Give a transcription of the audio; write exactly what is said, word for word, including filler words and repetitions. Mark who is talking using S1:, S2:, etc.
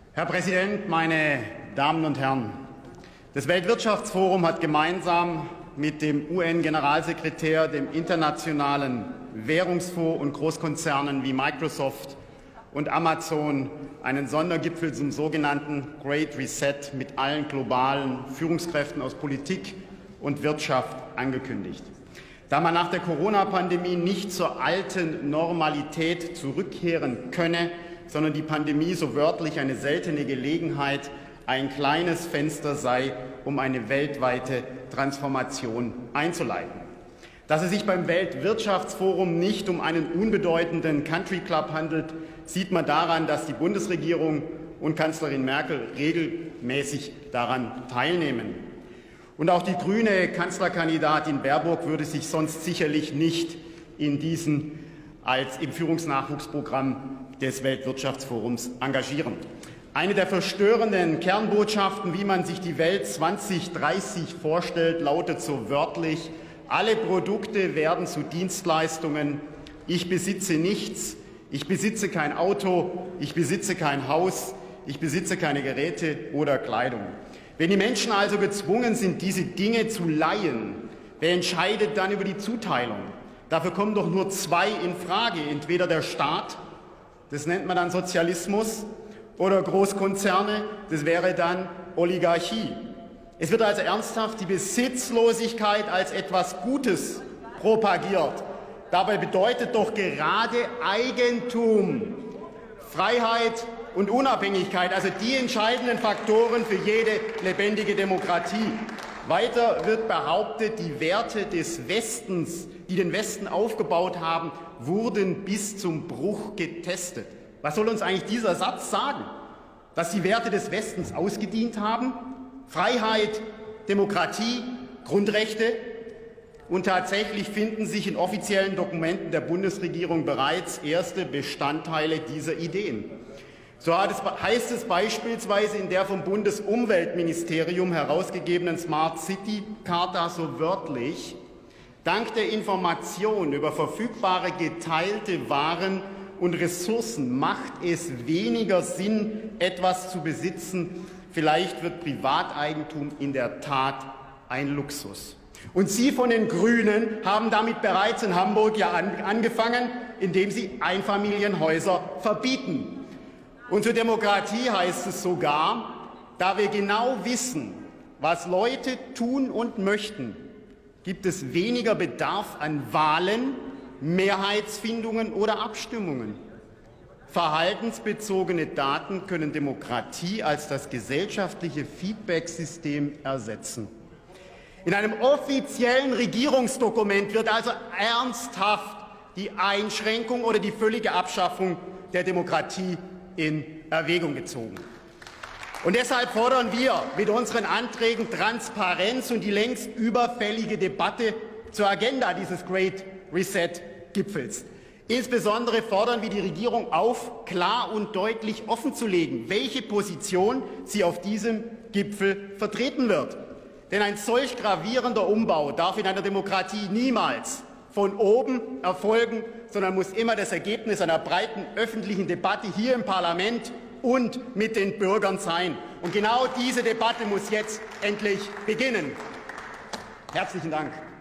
S1: Herr Präsident, meine Damen und Herren! Das Weltwirtschaftsforum hat gemeinsam mit dem U N-Generalsekretär, dem Internationalen Währungsfonds und Großkonzernen wie Microsoft und Amazon einen Sondergipfel zum sogenannten Great Reset mit allen globalen Führungskräften aus Politik und Wirtschaft angekündigt. Da man nach der Corona-Pandemie nicht zur alten Normalität zurückkehren könne, sondern die Pandemie so wörtlich eine seltene Gelegenheit, ein kleines Fenster sei, um eine weltweite Transformation einzuleiten. Dass es sich beim Weltwirtschaftsforum nicht um einen unbedeutenden Country Club handelt, sieht man daran, dass die Bundesregierung und Kanzlerin Merkel regelmäßig daran teilnehmen. Und auch die grüne Kanzlerkandidatin Baerbock würde sich sonst sicherlich nicht in diesen als im Führungsnachwuchsprogramm des Weltwirtschaftsforums engagieren. Eine der verstörenden Kernbotschaften, wie man sich die Welt zwanzig dreißig vorstellt, lautet so wörtlich: Alle Produkte werden zu Dienstleistungen. Ich besitze nichts. Ich besitze kein Auto. Ich besitze kein Haus. Ich besitze keine Geräte oder Kleidung. Wenn die Menschen also gezwungen sind, diese Dinge zu leihen, wer entscheidet dann über die Zuteilung? Dafür kommen doch nur zwei in Frage: Entweder der Staat, das nennt man dann Sozialismus, oder Großkonzerne, das wäre dann Oligarchie. Es wird also ernsthaft die Besitzlosigkeit als etwas Gutes propagiert. Dabei bedeutet doch gerade Eigentum, Freiheit und Unabhängigkeit, also die entscheidenden Faktoren für jede lebendige Demokratie. Weiter wird behauptet, die Werte des Westens, die den Westen aufgebaut haben, wurden bis zum Bruch getestet. Was soll uns eigentlich dieser Satz sagen? Dass die Werte des Westens ausgedient haben? Freiheit, Demokratie, Grundrechte? Und tatsächlich finden sich in offiziellen Dokumenten der Bundesregierung bereits erste Bestandteile dieser Ideen. So heißt es beispielsweise in der vom Bundesumweltministerium herausgegebenen Smart City Charta so wörtlich: Dank der Information über verfügbare geteilte Waren und Ressourcen macht es weniger Sinn, etwas zu besitzen. Vielleicht wird Privateigentum in der Tat ein Luxus. Und Sie von den Grünen haben damit bereits in Hamburg ja an, angefangen, indem Sie Einfamilienhäuser verbieten. Und zur Demokratie heißt es sogar: Da wir genau wissen, was Leute tun und möchten, gibt es weniger Bedarf an Wahlen, Mehrheitsfindungen oder Abstimmungen. Verhaltensbezogene Daten können Demokratie als das gesellschaftliche Feedback-System ersetzen. In einem offiziellen Regierungsdokument wird also ernsthaft die Einschränkung oder die völlige Abschaffung der Demokratie in Erwägung gezogen. Und deshalb fordern wir mit unseren Anträgen Transparenz und die längst überfällige Debatte zur Agenda dieses Great Reset-Gipfels. Insbesondere fordern wir die Regierung auf, klar und deutlich offenzulegen, welche Position sie auf diesem Gipfel vertreten wird. Denn ein solch gravierender Umbau darf in einer Demokratie niemals von oben erfolgen, sondern muss immer das Ergebnis einer breiten öffentlichen Debatte hier im Parlament und mit den Bürgern sein. Und genau diese Debatte muss jetzt endlich beginnen. Herzlichen Dank.